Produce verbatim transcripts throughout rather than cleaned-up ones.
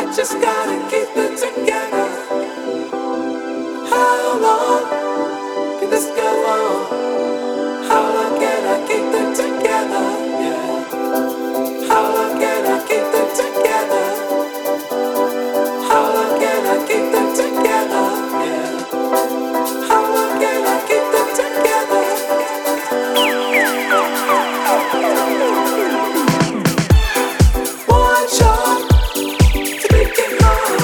just gotta keep it together. How long can this go on? How long can I keep it together? Yeah. How long can I keep it together? How long can I keep it together? Yeah. How long can I keep it together? One shot to make it hard.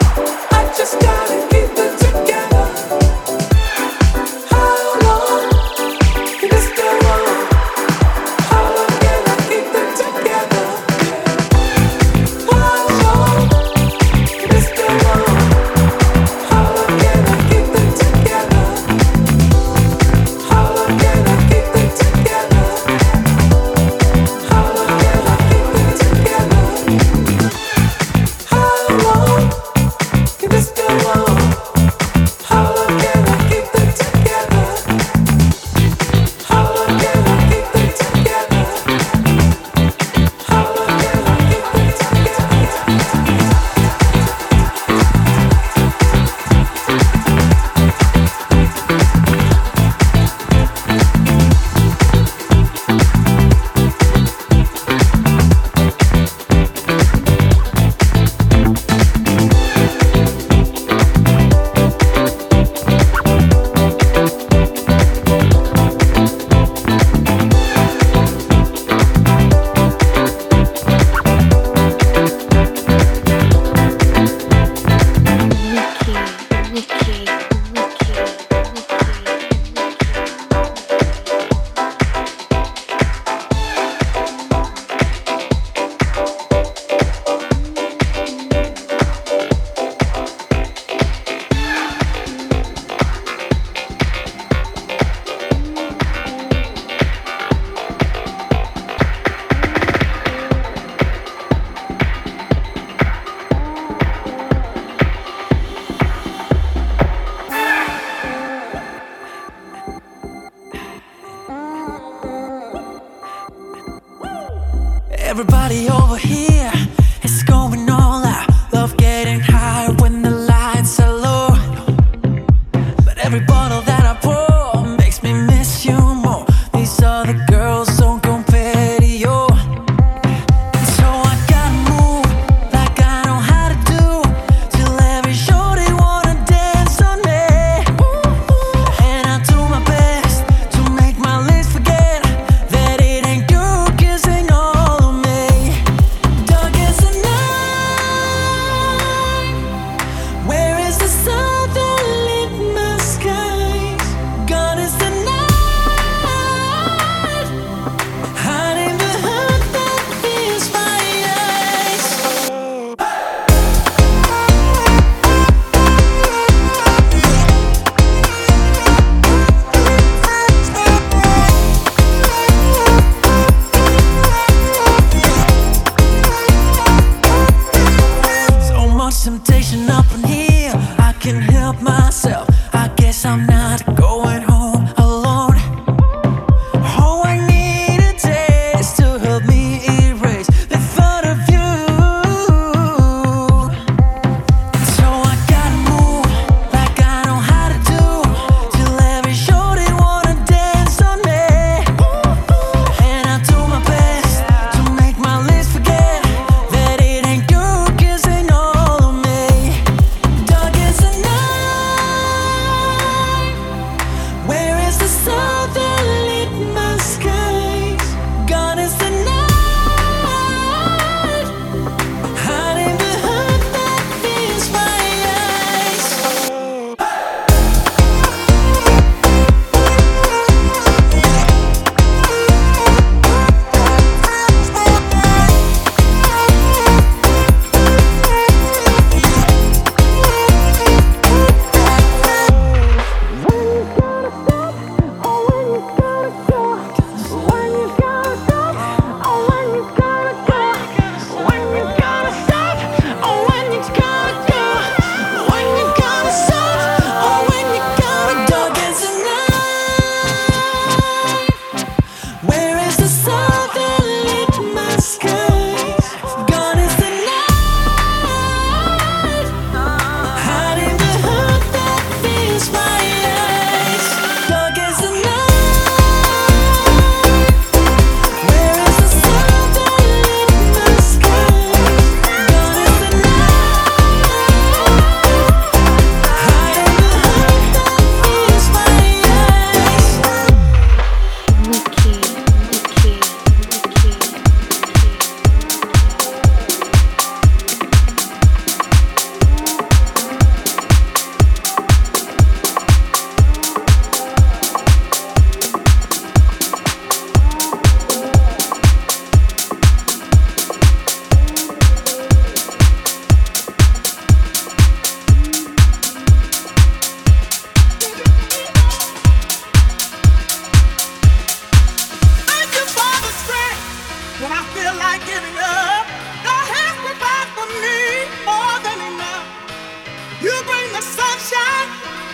I just gotta keep it together. How long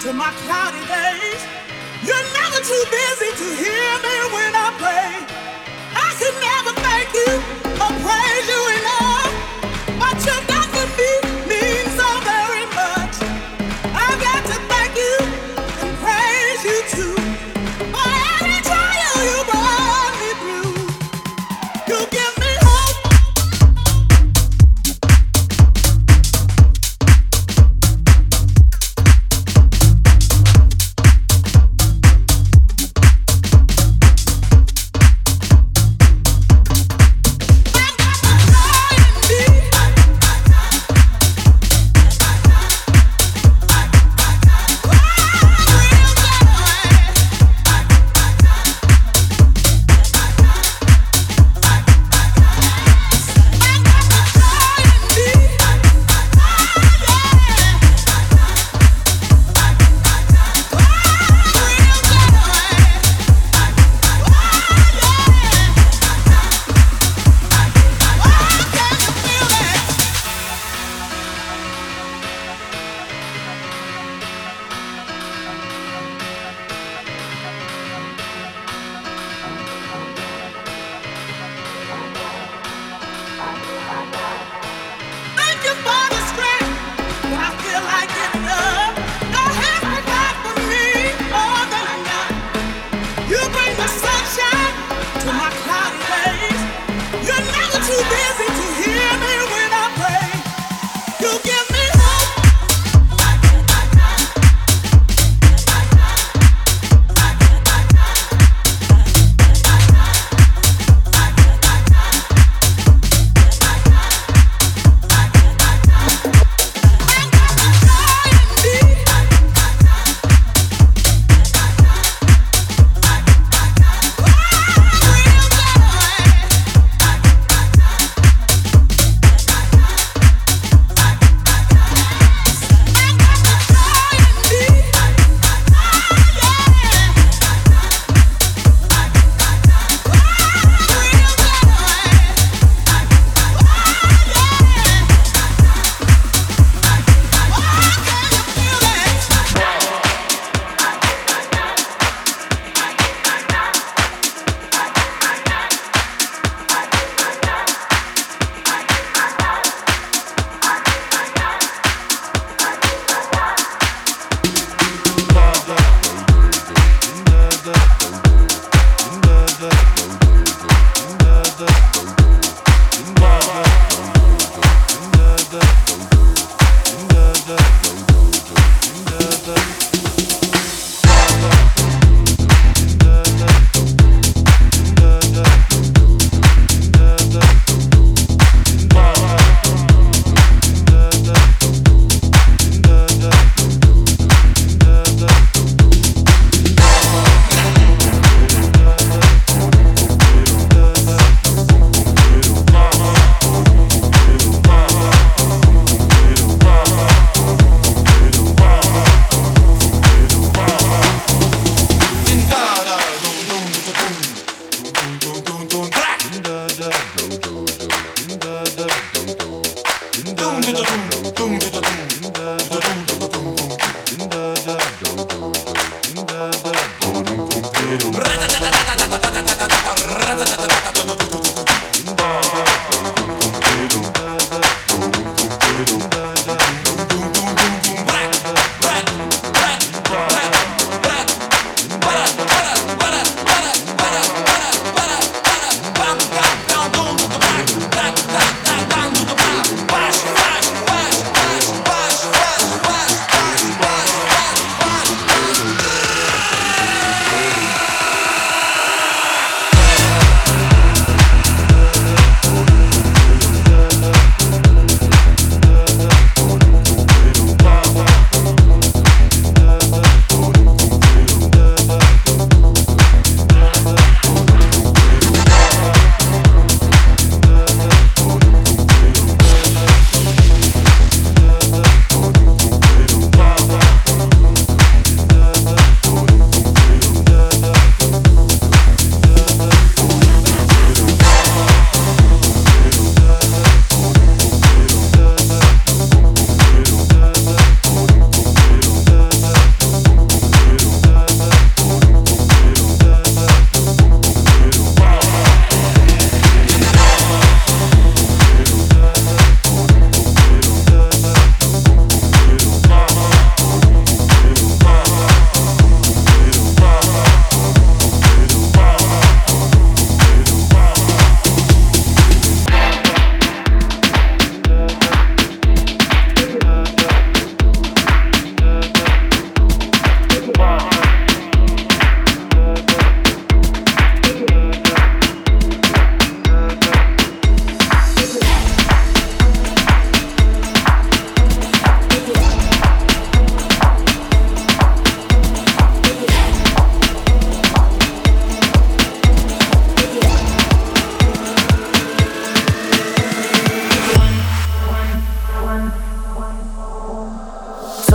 to my cloudy days. You're never too busy to hear me when I pray. I could never thank you or praise you enough. What you've done for me means so very much. I've got to thank you and praise you too. For every trial you brought me through, you give me hope.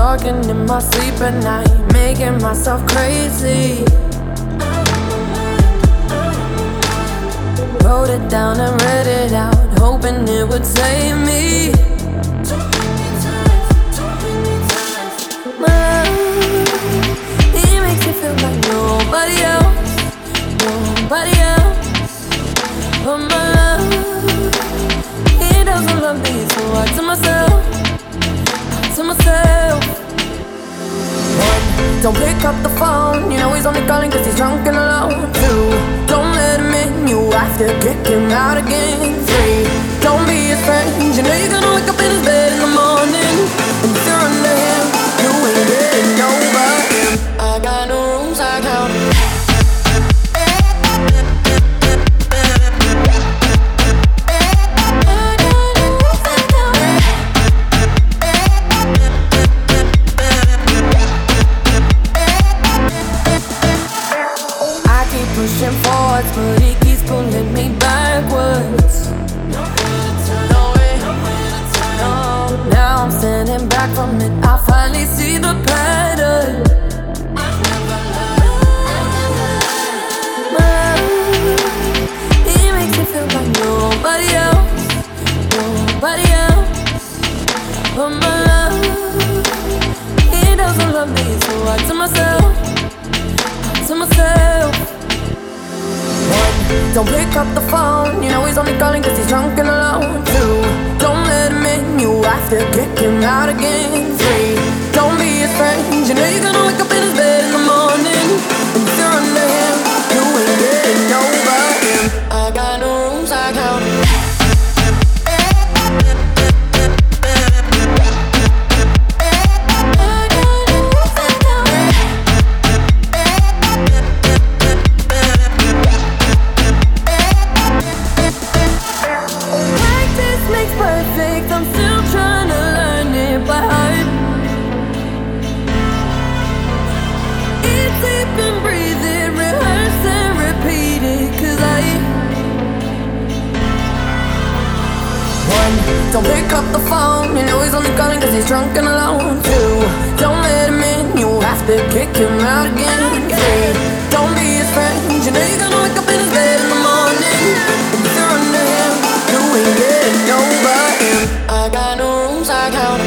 talking in my sleep at night, making myself crazy. Wrote it down and read it out, hoping it would save me. My love, he makes me feel like nobody else, nobody else. But my love, he doesn't love me, so I to myself, to myself. One, don't pick up the phone, you know he's only calling cause he's drunk and alone. Two, don't let him in, you have to kick him out again. Three, don't be his friend, you know you're gonna wake up in his bed in the morning. And if you're under him, you ain't getting over him. I got no rules, I count. Pushing forwards, but he keeps pulling me backwards. No, now I'm standing back from it, I finally see the pattern. My love, he makes me feel like nobody else, nobody else. But my love, he doesn't love me, so I to myself, I to myself. One, don't pick up the phone, you know he's only calling cause he's drunk and alone. Two, don't let him in, you have to kick him out again. Three, don't be his friend, you know you're gonna wake up in his bed in the morning. And if you're under him, you ain't getting over him. I got no rules, I count. Don't pick up the phone, you know he's only calling cause he's drunk and alone. Two, don't let him in, you have to kick him out again. Three, don't be his friend, you know you're gonna wake up in his bed in the morning. And if you're under him, you ain't getting over him. I got no rules, I count.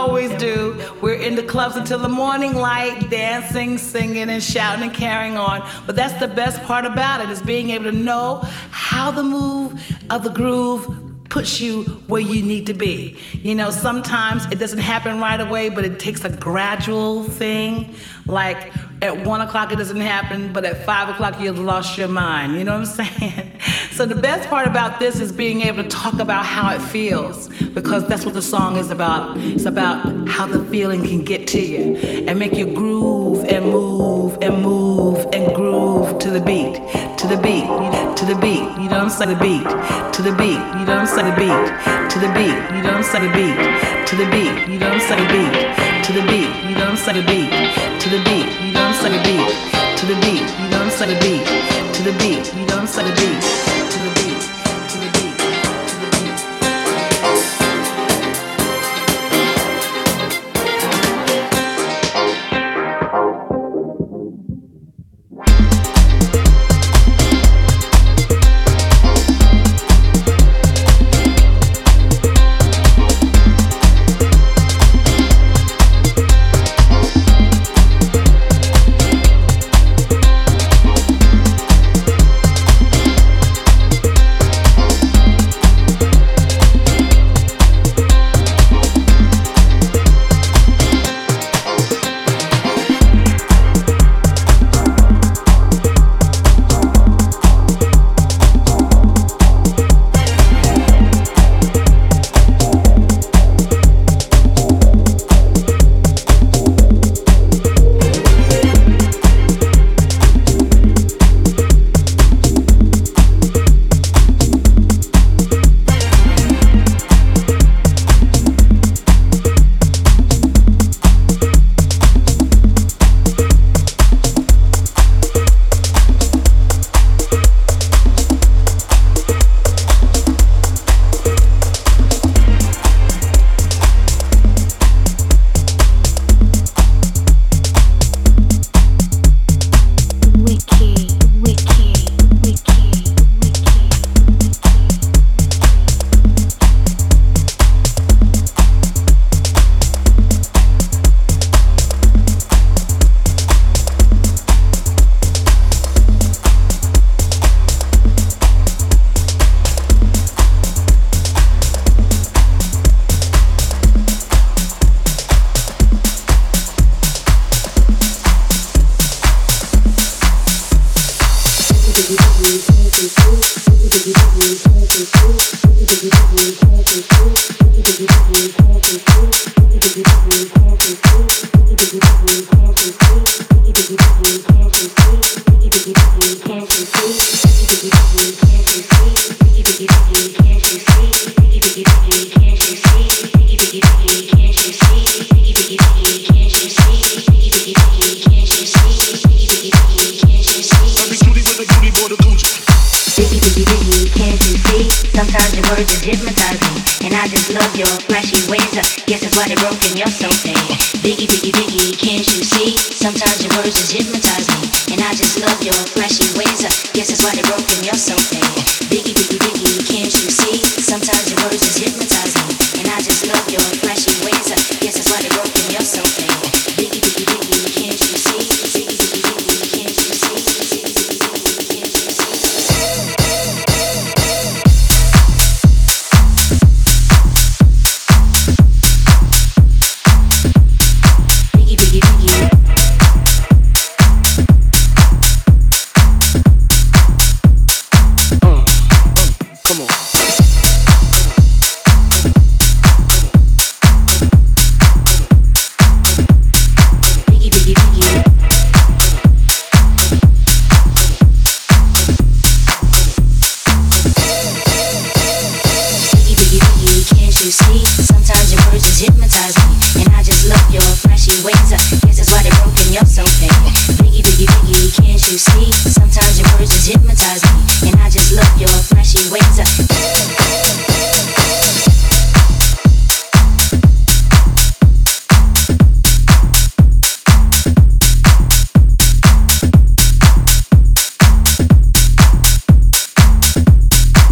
always do. We're in the clubs until the morning light, dancing, singing, and shouting and carrying on. But that's the best part about it, is being able to know how the move of the groove puts you where you need to be. You know, sometimes it doesn't happen right away, but it takes a gradual thing. Like at one o'clock it doesn't happen, but at five o'clock you've lost your mind. You know what I'm saying? So the best part about this is being able to talk about how it feels, because that's what the song is about. It's about how the feeling can get to you and make you groove and move and move and groove to the beat, to the beat, to the beat. You know what I'm saying? The beat, to the beat. You know what I'm saying? The beat, to the beat. You know what I'm saying? The beat, to the beat. You know what I'm saying? The beat, to the beat. You know what I'm saying? The beat, to the beat. You know what I'm saying? The beat, to the beat. You know what I'm saying? The beat, to the beat. You know what I'm saying? The beat.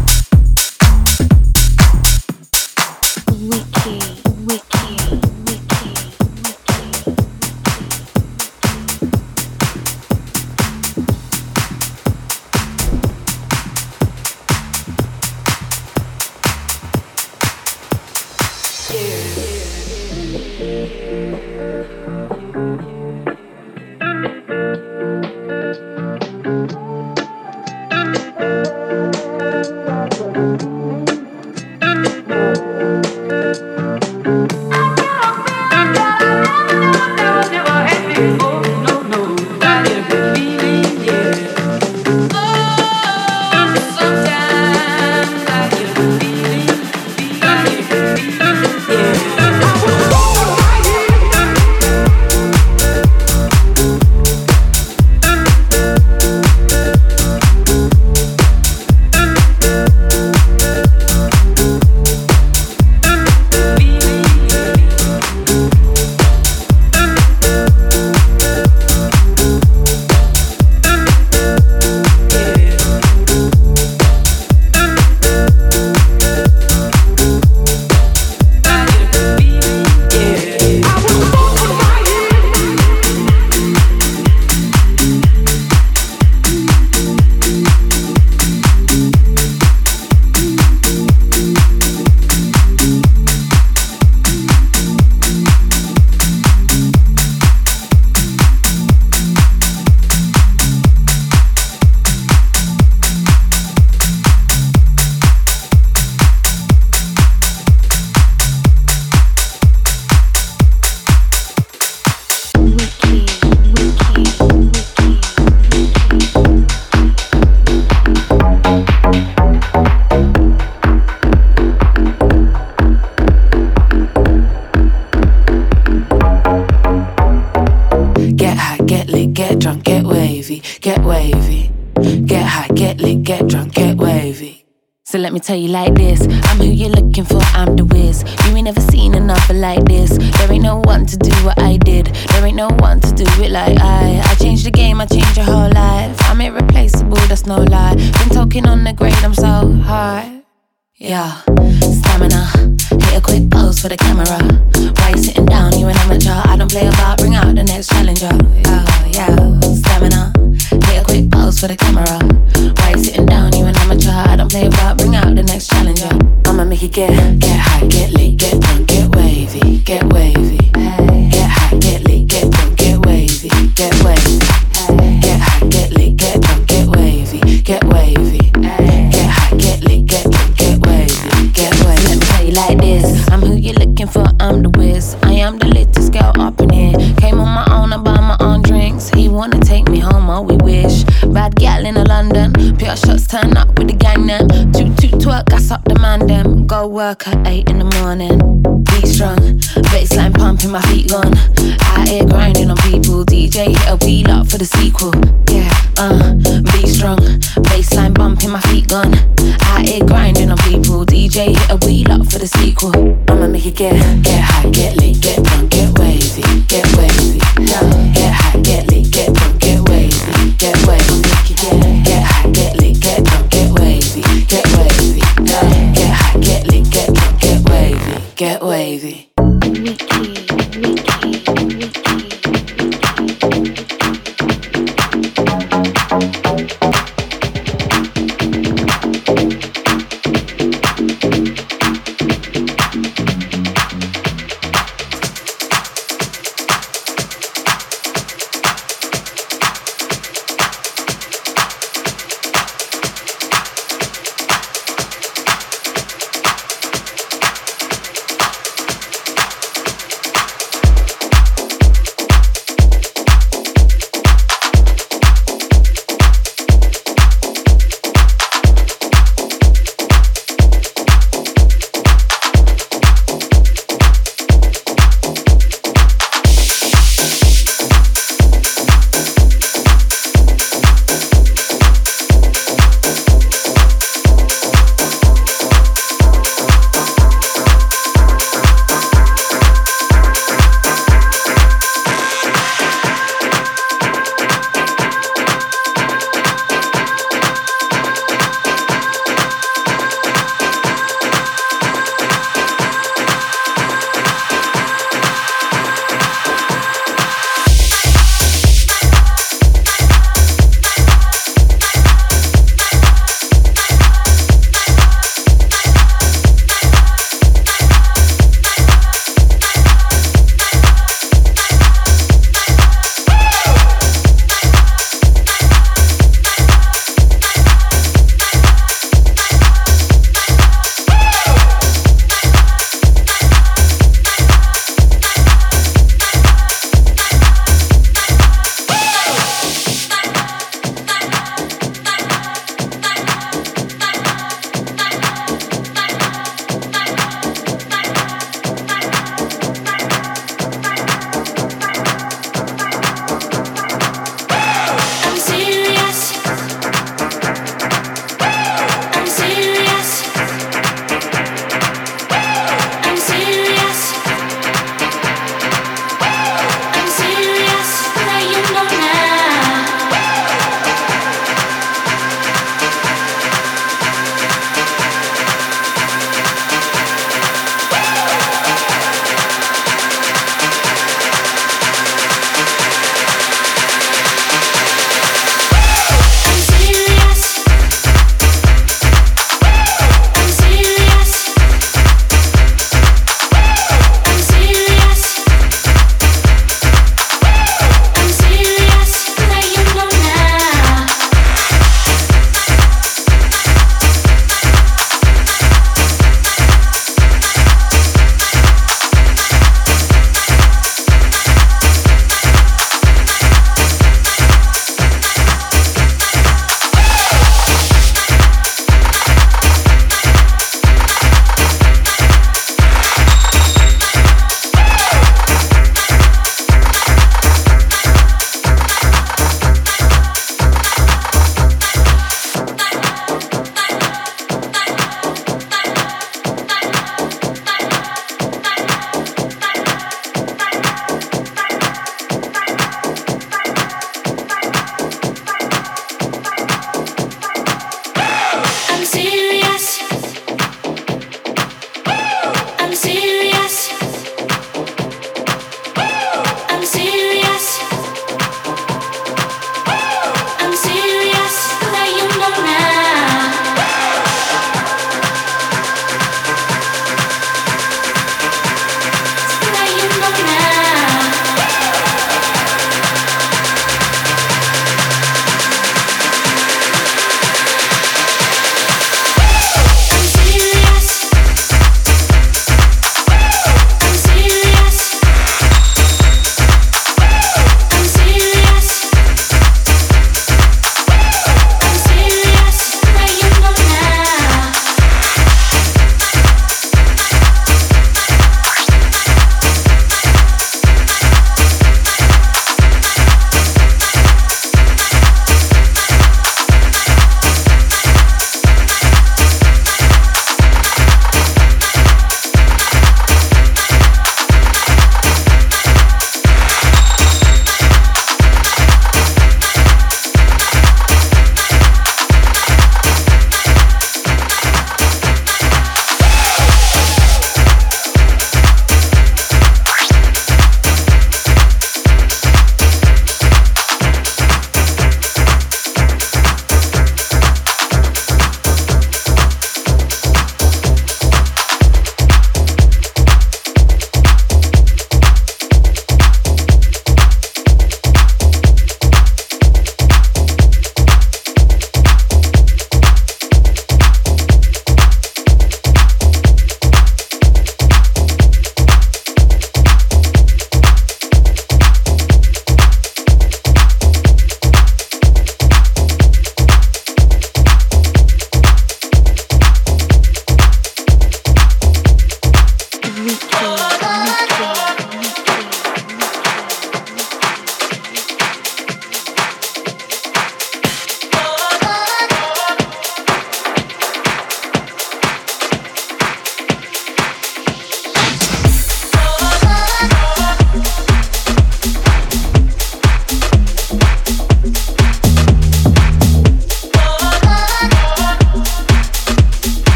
Wicked, wicked, wicked. So let me tell you like this, I'm who you're looking for, I'm the whiz. You ain't never seen another like this. There ain't no one to do what I did. There ain't no one to do it like I I changed the game, I changed your whole life. I'm irreplaceable, that's no lie. Been talking on the grade, I'm so high. Yeah, stamina, hit a quick pose for the camera. Why you sitting down, you an amateur? I don't play about, bring out the next challenger. Yeah, yeah, stamina, hit a quick pose for the camera. Why you sitting down, you an amateur? I don't play about, bring out the next challenger. I'ma make it get, get high, get lit, get drunk, get wavy, get wavy. Get high, get lit, get drunk, get wavy, get wavy. Get high, get lit, get drunk, get wavy, get wavy. Get high, get lit, get drunk, get wavy, get wavy. Let me tell you like this, I'm who you're looking for, I'm the whiz. I am the latest girl up in here. Came on my own, I buy my own drinks. He wanna take me home, oh we wish. Bad gal in a London, pure shots turn up with the gang them. Toot toot twerk, gas up the man them. Go work at eight in the morning. Beat strong, baseline pumping, my feet gone. Out here grinding on people. D J hit a wheel up for the sequel. Yeah, uh, beat strong, baseline bumping, my feet gone. Out here grinding on people. D J hit a wheel up for the sequel. I'ma make it get, get high, get lit, get drunk, get wavy, get wavy. Get high, get lit, get drunk, get wavy, get wavy. Get, get high, get lit, get drunk, get wavy, get wavy. Get high, get lit, get drunk, get wavy, get wavy.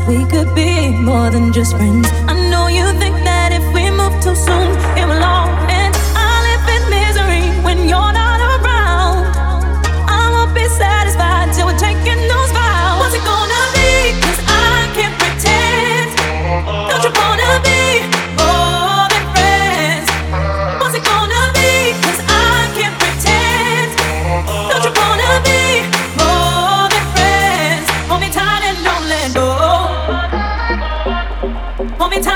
we could be more than just friends. I know you think that if we move too soon, it will all end. I live in misery when you're not around. I won't be satisfied till we're taking those vows. What's it gonna be? 'Cause I can't pretend. Don't you wanna be more than friends? What's it gonna be? 'Cause I can't pretend. Don't you wanna be more than friends? Hold me tight and don't let go. Hold me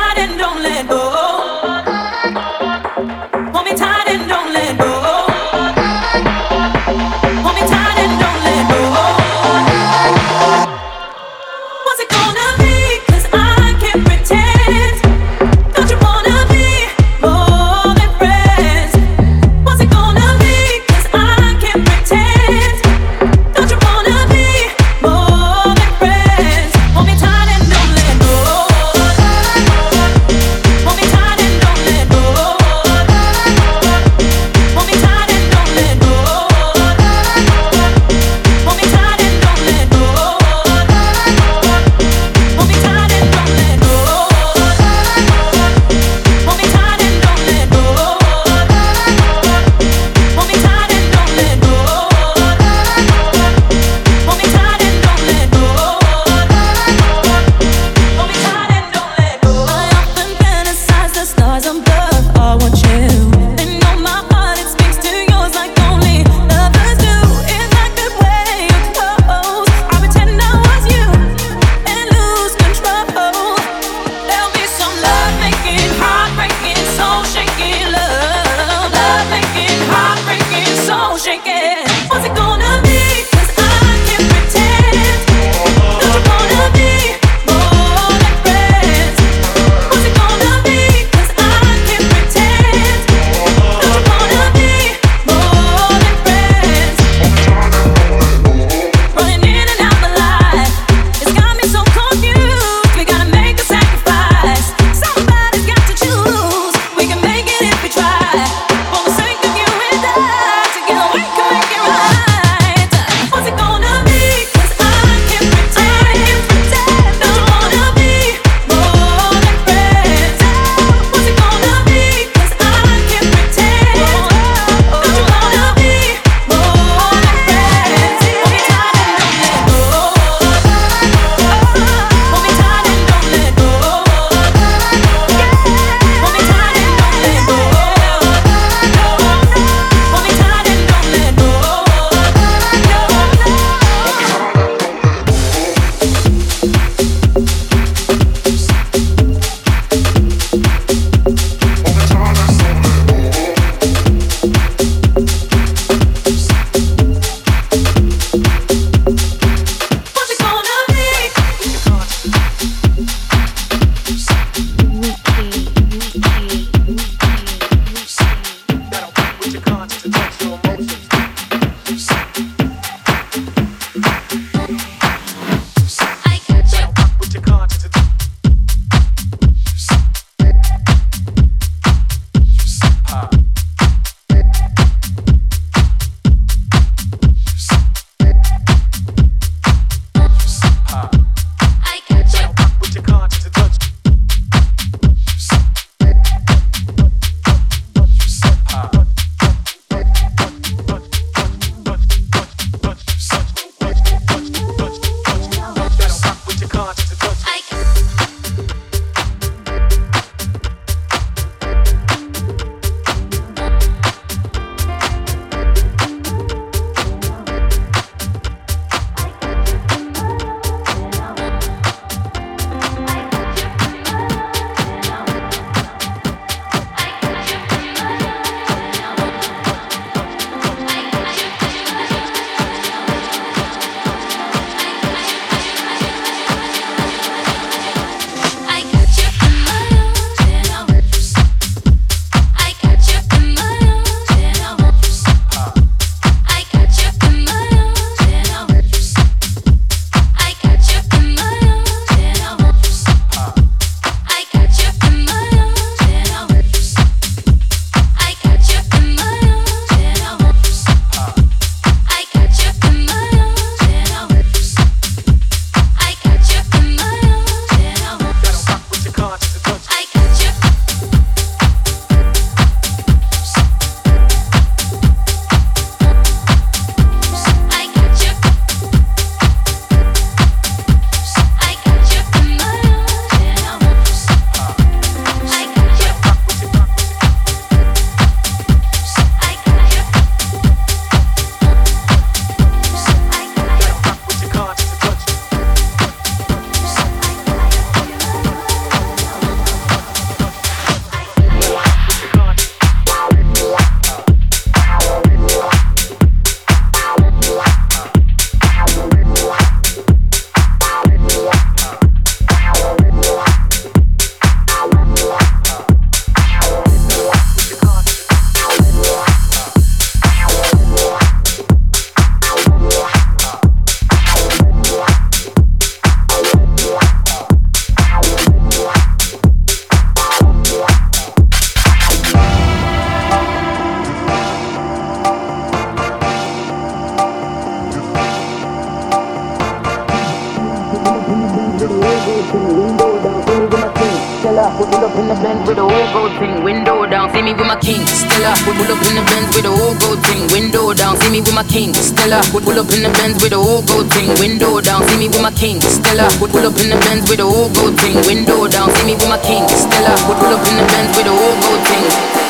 pull up in the Benz with a whole gold thing, window down. See me with my king, Stella. Pull up in the Benz with a whole gold thing, window down. See me with my king, Stella. Pull up in the Benz with a whole gold thing, window down. See me with my king, Stella. Pull up in the Benz with a whole gold thing, window down. See me with my king, Stella. Pull up in the Benz with a whole gold thing.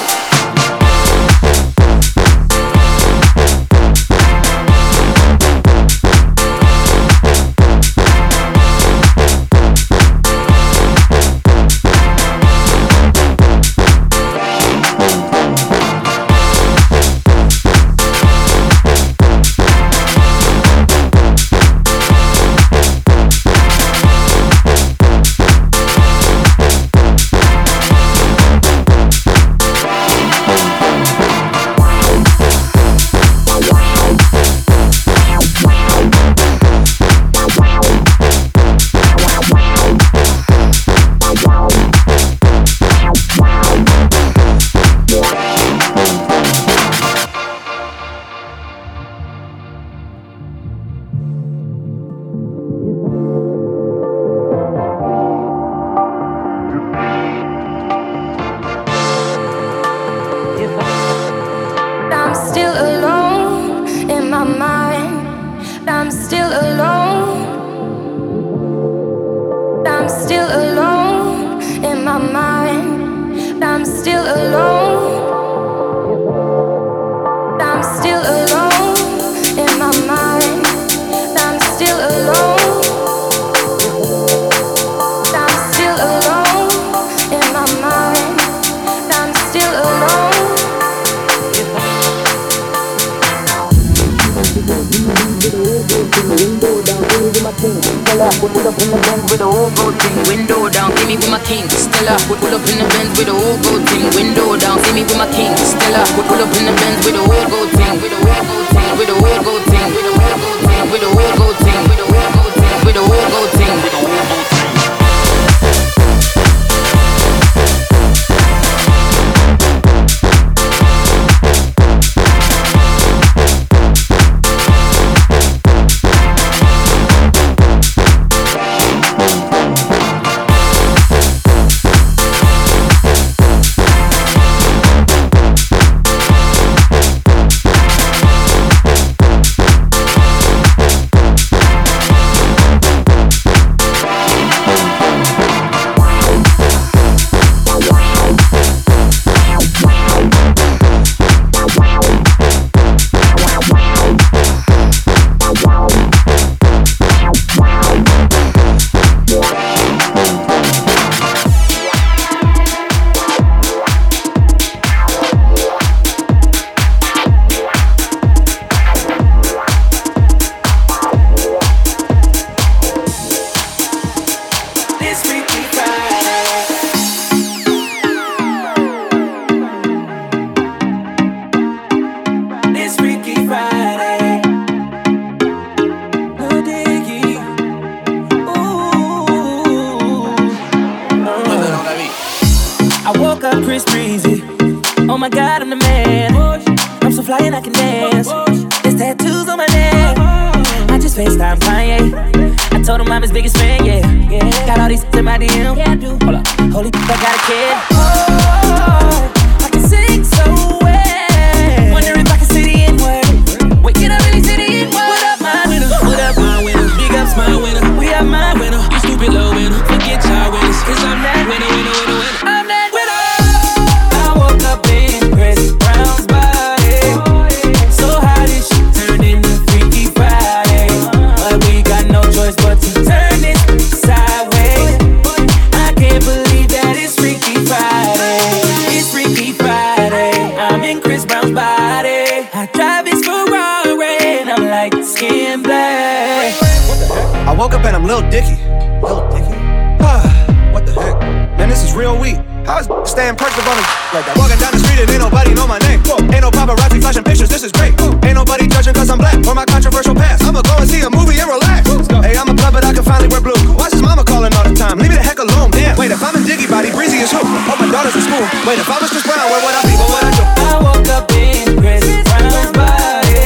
Wait, if I was Chris Brown, where would I be? What would I do? I woke up in Chris Brown's body.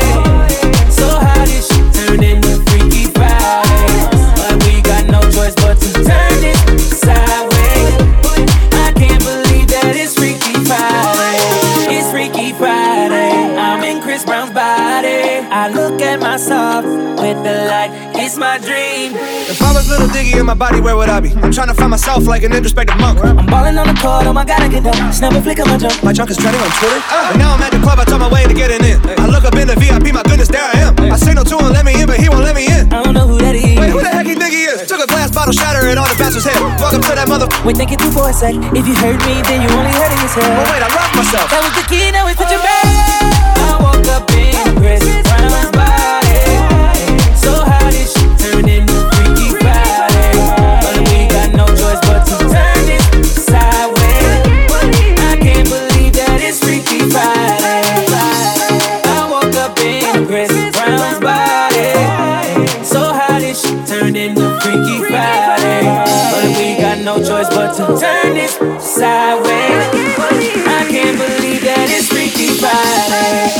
So how did she turn into Freaky Friday? But we got no choice but to turn it sideways. little diggy in my body, where would I be? I'm trying to find myself like an introspective monk. I'm balling on the court, oh my god, I get down. Snap a flick of my jump. My junk is trending on Twitter. Uh, and now I'm at the club, I told my way to getting in. I look up in the V I P, my goodness, there I am. I signal to him, let me in, but he won't let me in. I don't know who that is. Wait, who the heck he think he is? Took a glass bottle, shatter it on the bouncer's head. Welcome to that mother. Wait, think it through for a sec. If you heard me, then you only heard it yourself. Oh wait, I rocked myself. That was the key, now it's such a bad. I woke up in Chris Brown's body. So how this shit turn into Freaky Friday? But we got no choice but to turn it sideways. I can't believe that it's Freaky Friday. I woke up in Chris Brown's body. So how this shit turned into Freaky Friday? But we got no choice but to turn it sideways. I can't believe that it's Freaky Friday.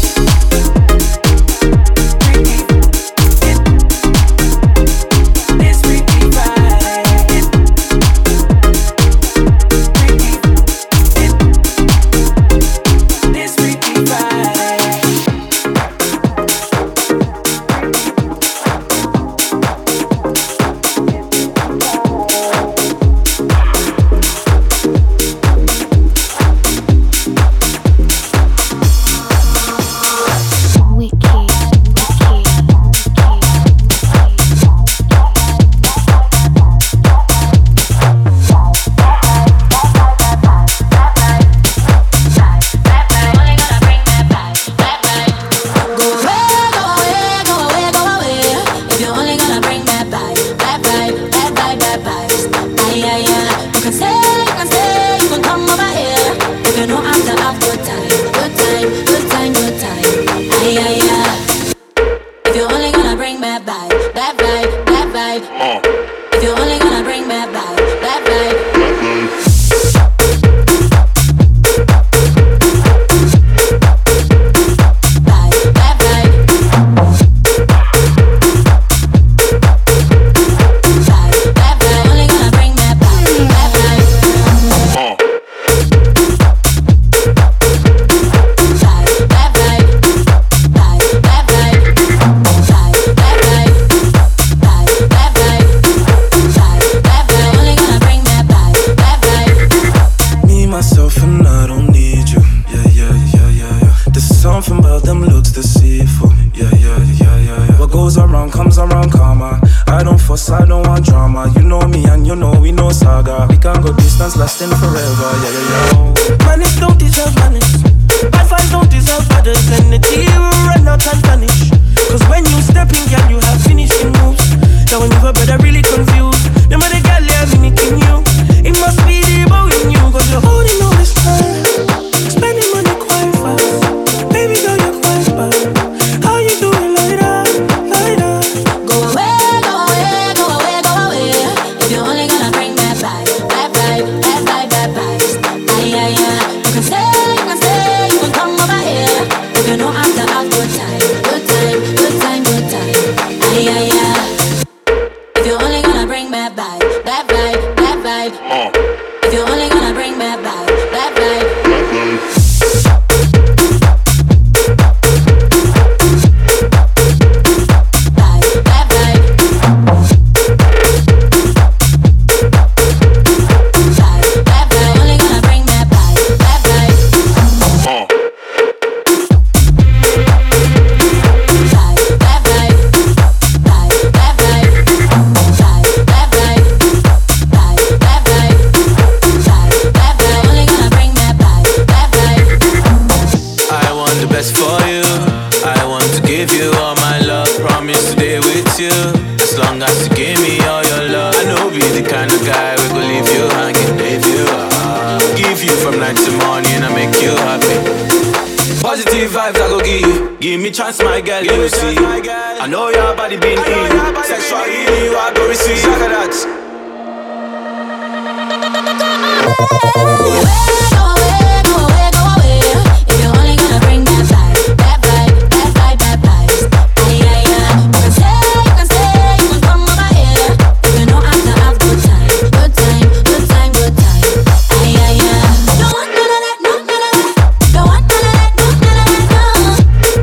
Lasting forever, yeah, yeah, yeah. Manners don't deserve manners. Bad vibes don't deserve others. Energy will run out and vanish. Cause when you step in, girl, you have finishing moves. Now when you've a brother really confused. Them other girl, they're mimicking you. It must be the bow in you. Cause you're holding all this time. Spending money quite fast. Baby girl, you're quite bad. How you doing like that, like that? Go away, go away, go away, go away. If you're only gonna bring that vibe, that vibe, that vibe, that vibe. Ay, ay, ay. You can stay, you can stay, you can come over here. If you know I'm the have good time, good time, good time, good time. Ay, ay, ay. If you're only gonna bring that vibe, that vibe, that vibe. If you're only gonna bring that vibe, that vibe. Give me chance, my girl, you will see. I know your body been in. Sexual healing, you are going to receive. Look at that.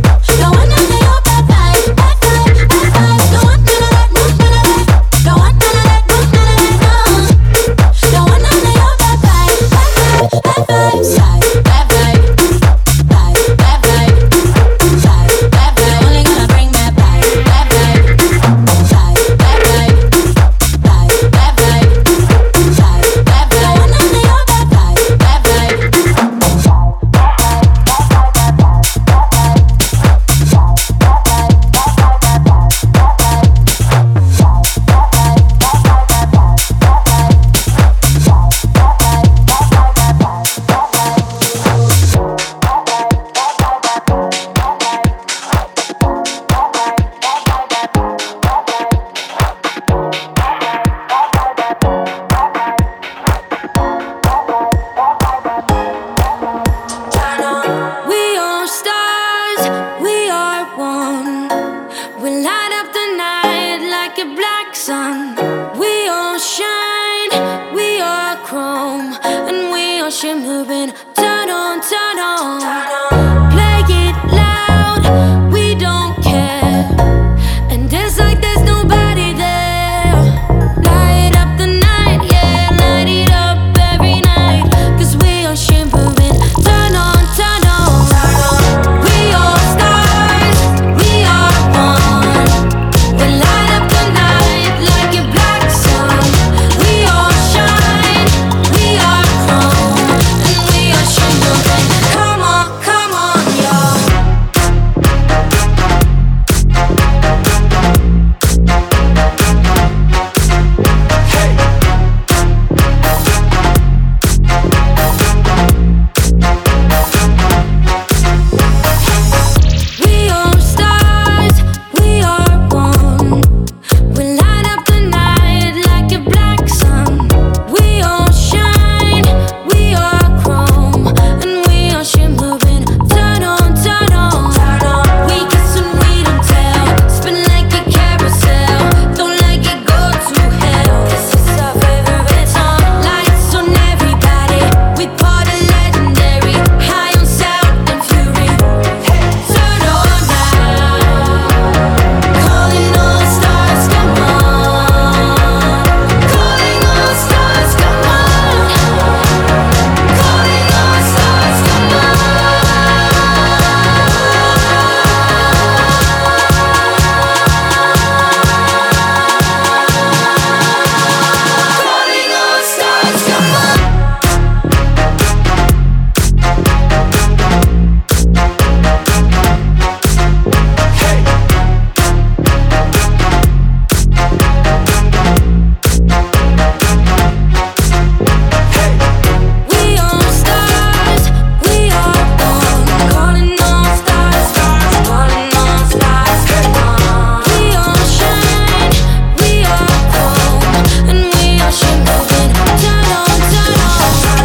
Don't want shimmering. Turn on, turn on. Play it loud, we don't care. And dance like there's nobody there. Light up the night, yeah, light it up every night. Cause we are shimmering. Turn on, turn on. We are stars, we are one. We light up the night like a black sun. We all shine, we are chrome, and we are shimmering. Come on, come on, y'all. We are stars, we are one. We light up the night like a black sun. We all shine, we are chrome, and we are shimmering. Turn on, turn on. We kiss and we don't tell. Spin like a carousel. Don't let it go to hell. This is our favorite song. Lights on everybody. We party legendary. High on sound and fury. Turn on now. Calling all stars, come on. Calling all stars, come on. Calling all stars, come on. Calling all stars, come on. We are stars, we are one. Calling all stars, stars, calling all stars, come on. We all shine, we are chrome, and we are shimmering. Turn on, turn on.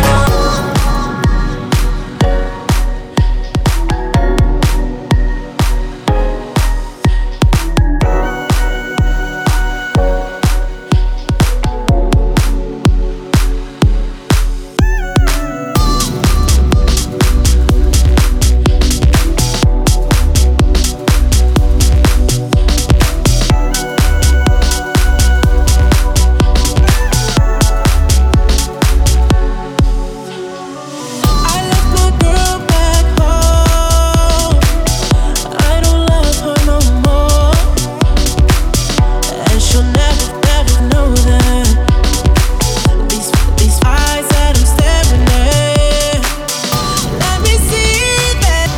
I left my girl back home. I don't love her no more, and she'll never, never know that. These, these eyes that I'm staring at, let me see that.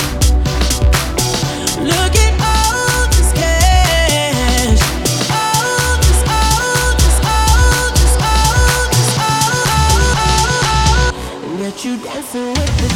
Look at all this cash, all this, all this, all this, all this, all, and get you dancing with the.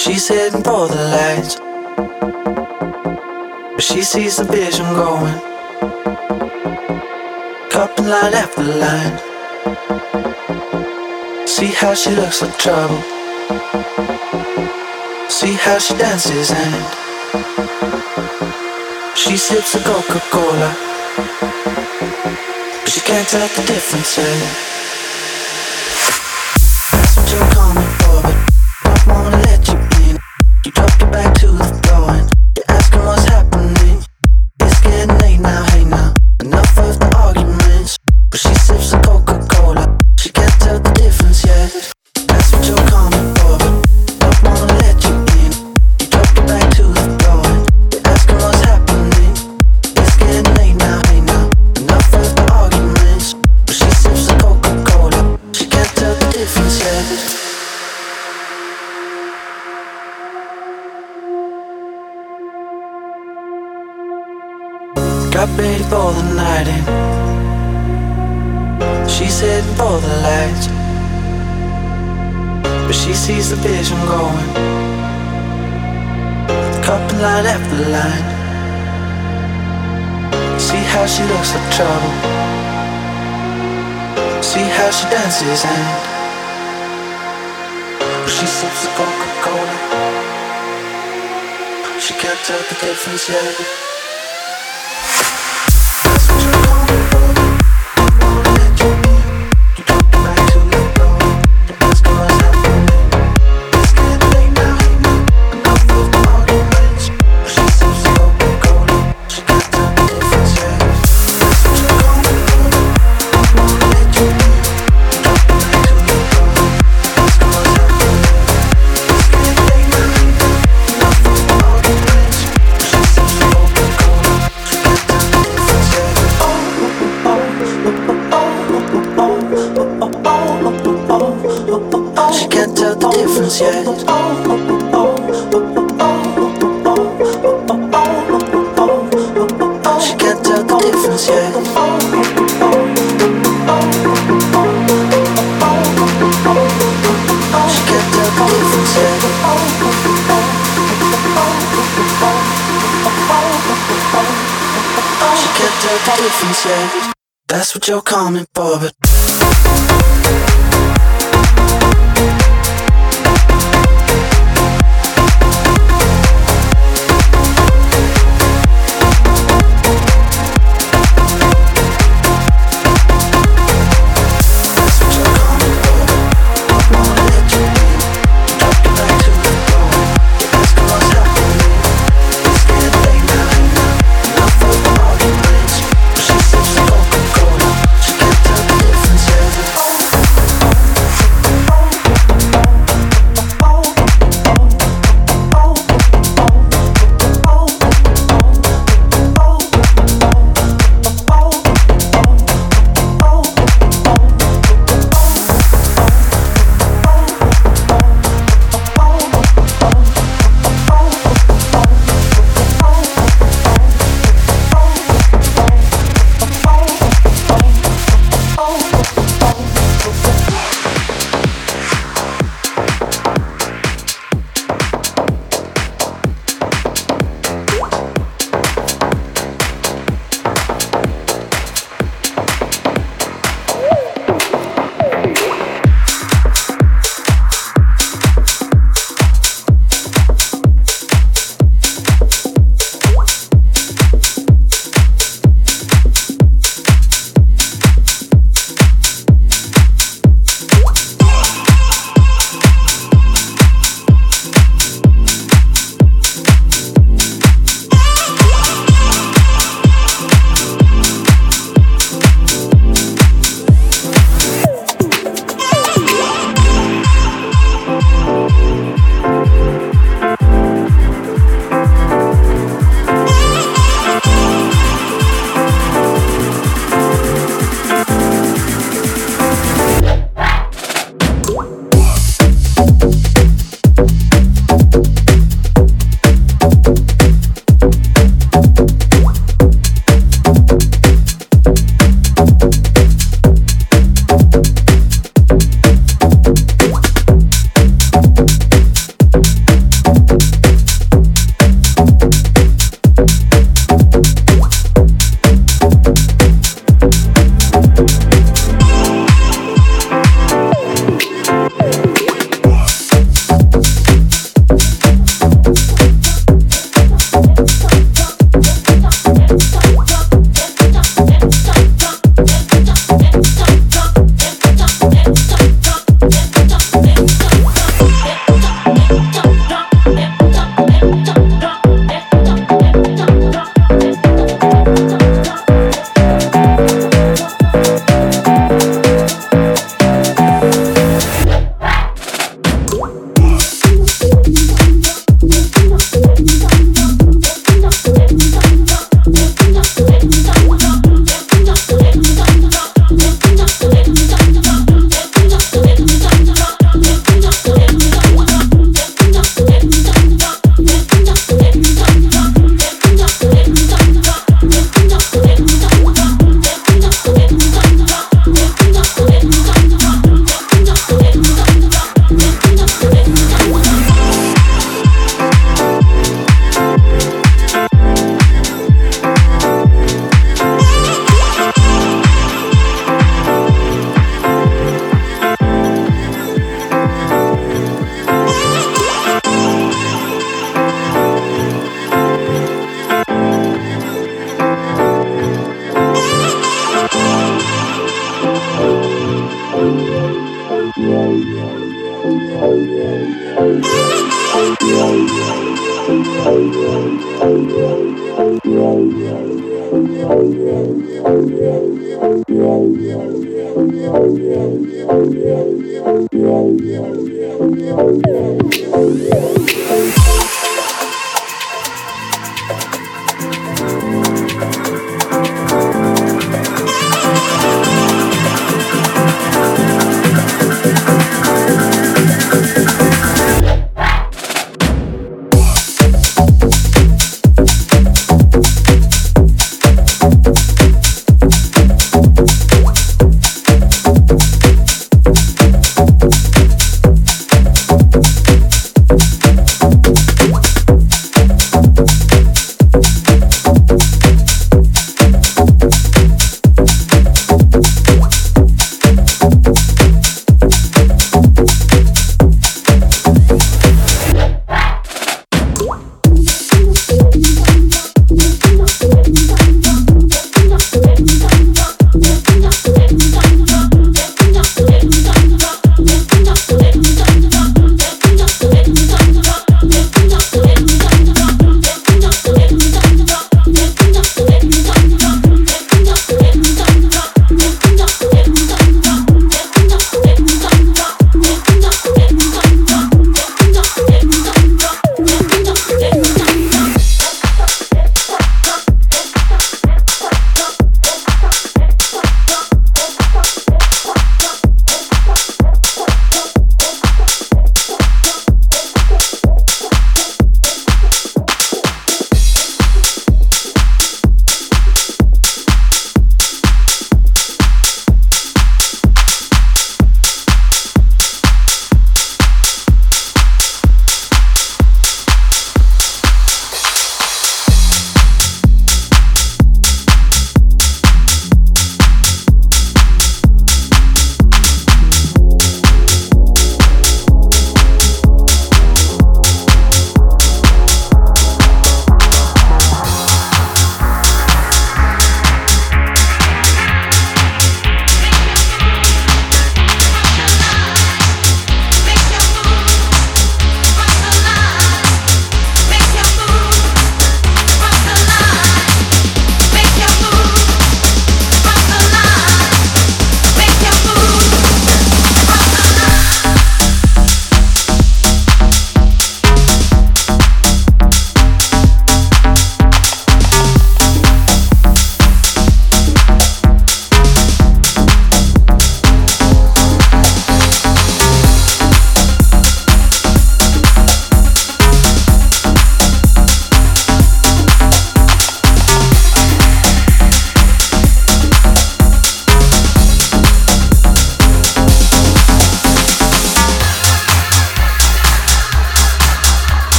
She's heading for the lights, but she sees the vision going. Couple line after line. See how she looks like trouble. See how she dances and she sips a Coca-Cola, but she can't tell the difference yet. That's what you're coming for, but don't wanna let you in. You drop your back to the floor and you're asking what's happening. It's getting late now, hey now. Enough of the arguments, but she sips a Coca-Cola. She can't tell the difference yet. That's what you're coming for, but don't wanna let you in. You drop your back to the floor and you're asking what's happening. It's getting late now, hey now. Enough of the arguments, but she sips a Coca-Cola. She can't tell the difference yet. Got ready for the night and she's heading for the lights, but she sees the vision going. Couple line after line. See how she looks like trouble. See how she dances and she sips the Coca-Cola. She can't tell the difference yet. That's what you're coming for, but She can't tell the difference.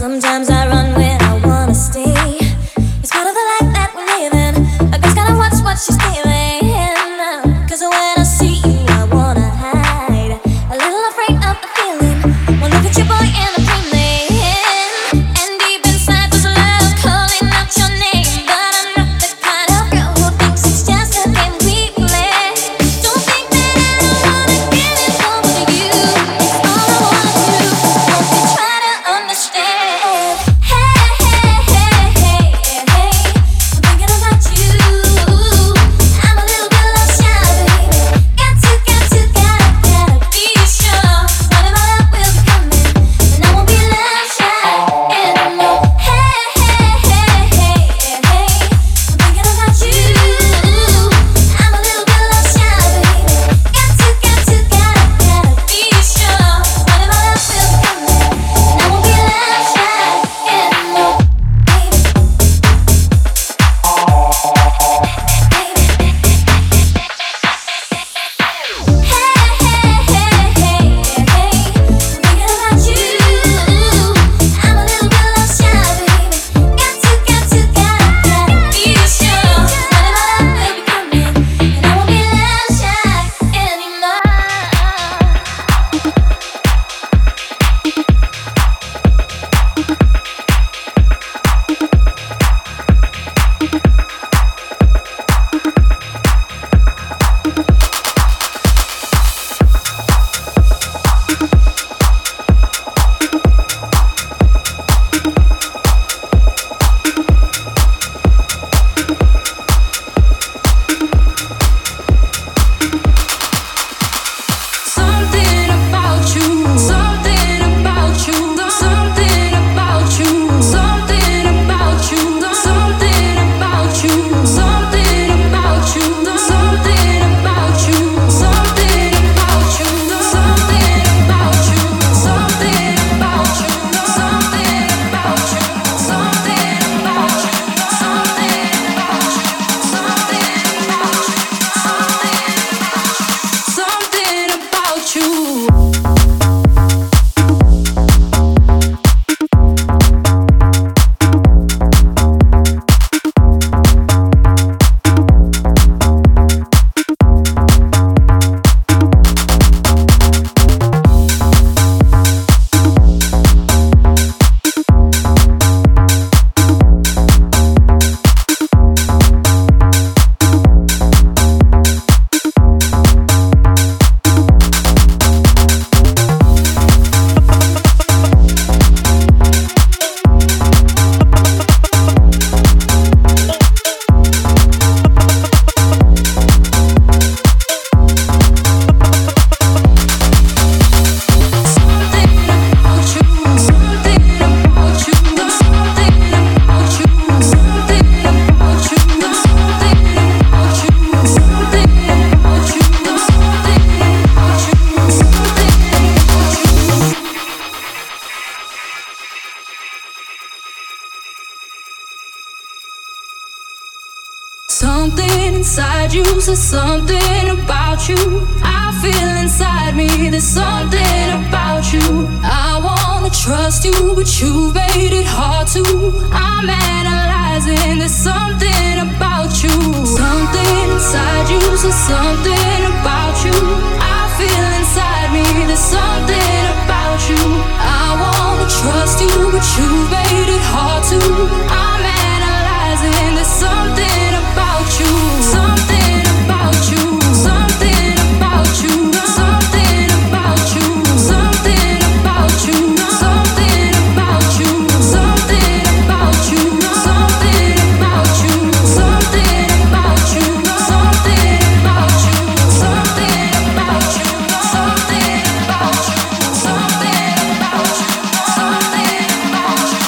Sometimes I run when I wanna stay. It's part of the life that we're living. I just gotta watch what she's giving. Cause when I see you, I wanna hide. A little afraid of the feeling. One look at your boy and I'm dreaming. And deep inside there's love calling out your name. But I'm not the kind of girl who thinks it's just a game we play. Don't think that I don't wanna give it over to you. It's all I wanna do. Don't you try to understand. Hey, hey, hey, hey, hey. I'm thinking about you. I'm a little bit love shy, baby. Got to, got to, gotta, gotta be sure. One of my love will be coming, and I won't be love shy anymore. Hey, hey, hey, hey, hey. I'm thinking about you. I'm a little bit love shy, baby. Got to, got to, gotta, gotta be sure. One of my love will be coming, and I won't be love shy anymore, baby. Something about you, something about you, something about you, something about you, something about you, something about you, something about you, something about you, something about you, something about you, something about you, something about you, something about you, something about you, something about you. Something inside you says something about you. I feel inside me there's something about you. I wanna trust you, but you made it hard to. I'm analyzing, there's something about you. Something inside you says something about you. I feel inside me there's something about you. I wanna trust you, but you made it hard to. I'm analyzing, there's something about you. Something about you. Something about you. Something about you. Something about you. Something about you. Something about you. Something about you. Something about you. Something about you. Something about you. Something about you. Something about you. Something about you.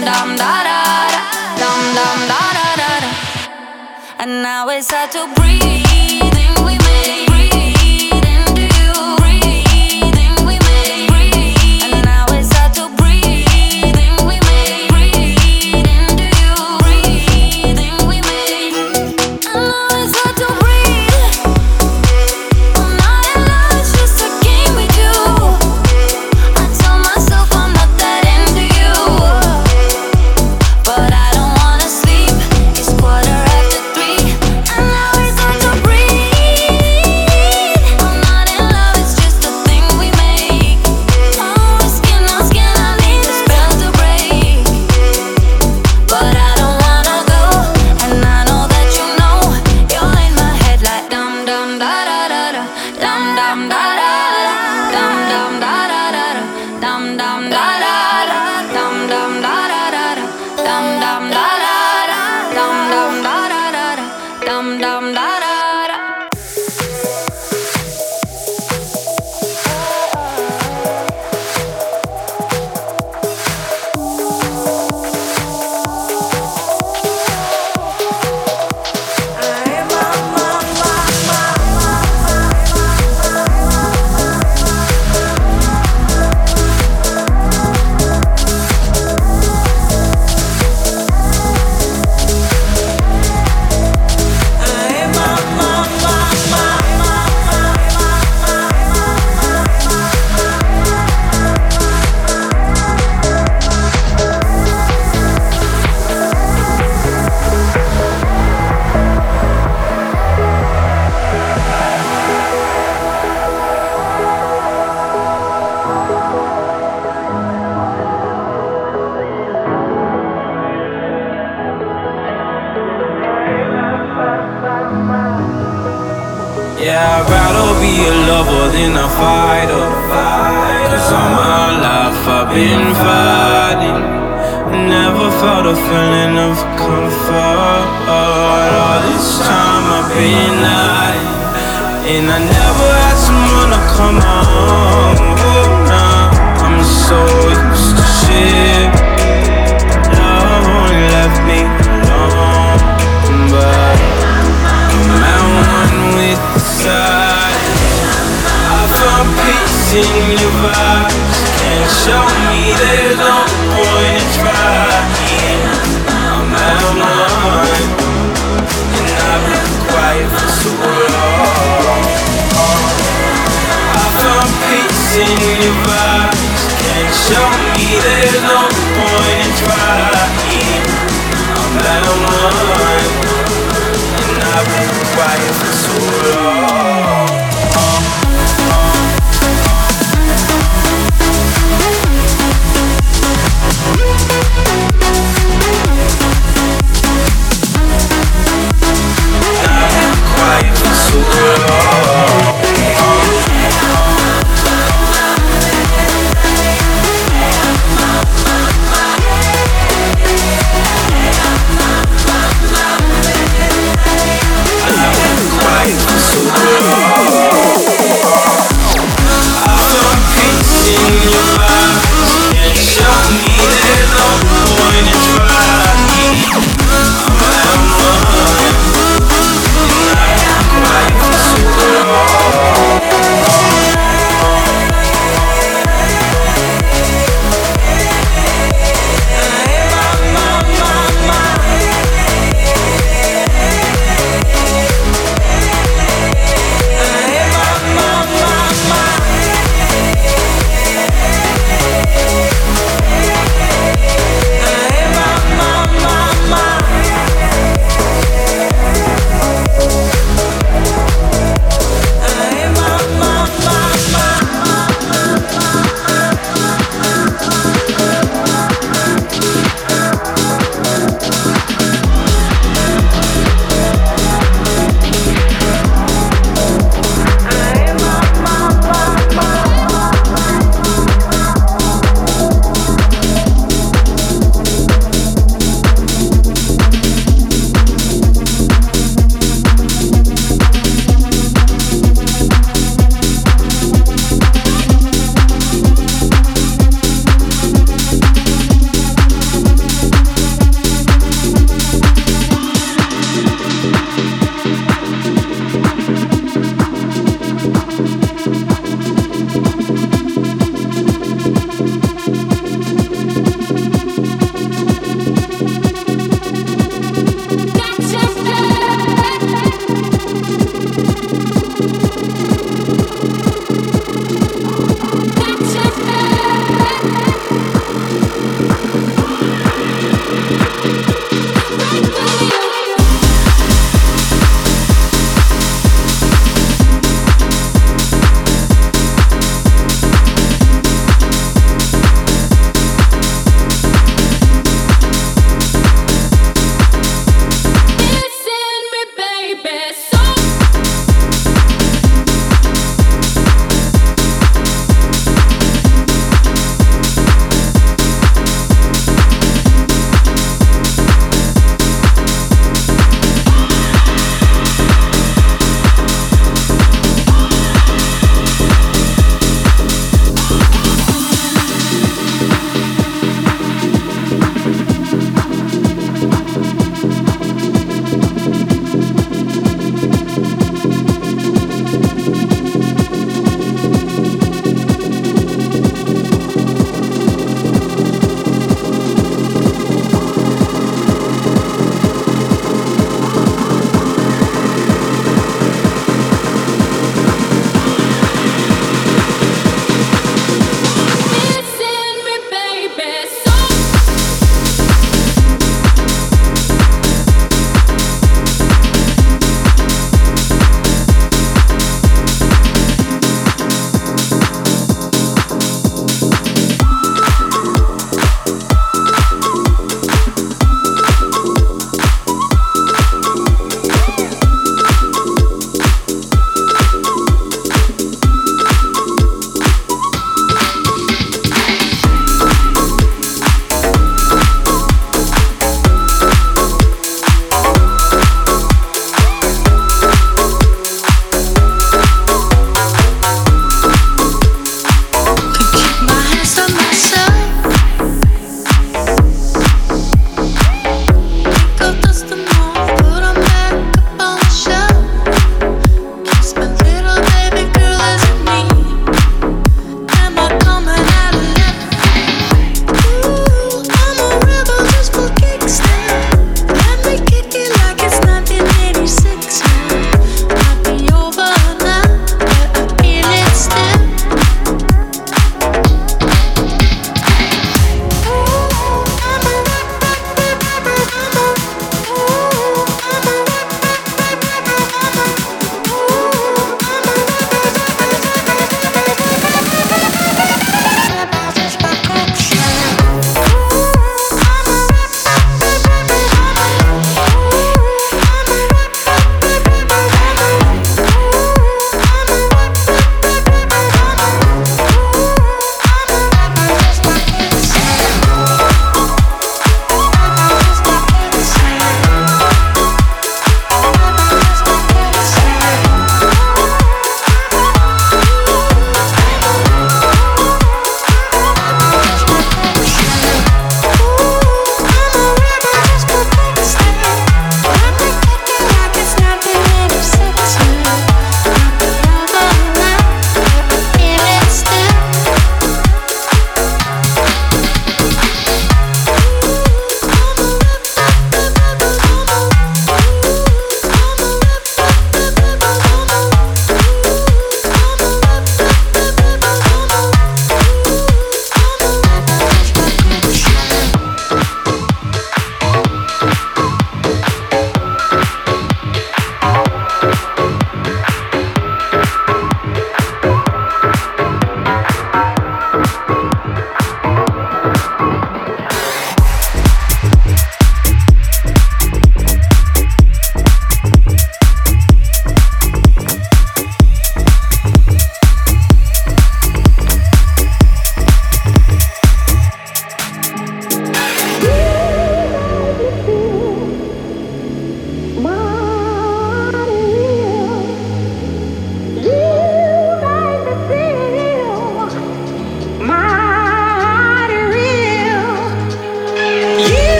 dum da da da, dum dum da da da da. And now it's hard to breathe in we make, breathe into you, breathe in we make, breathe. And now it's hard to breathe in we make, breathe into you, breathe in we make. And now it's hard to breathe. I'm not in love, it's just a game we do. I tell myself I'm not that into you, but I don't wanna sleep. It's quarter after three, and now it's hard to breathe. I'm not in love, it's just a thing we make. Oh, we're skin on skin, I need the spell to break, but I don't wanna go. And I know that you know you're in my head like dum dum da da da da, dum dum da da da, dum dum da da da da, dum dum da da da, dum dum da da da da, dum dum da da da, dum dum da da da da, dum dum da da da. Yeah, I'd rather be a lover than a fighter. Cause all my life I've been fighting. Never felt a feeling of comfort. All this time I've been hiding, and I never had someone to come home. Oh, nah, I'm so used to shit. Love only left me alone, but I'm at one with the silence. I found peace in your vibes. Can't show me there's no point in trying. I'm at one, and I've been quiet for so long. I found peace in your vibes. Can't show me there's no point in trying. I'm at one, and I've been quiet for so long.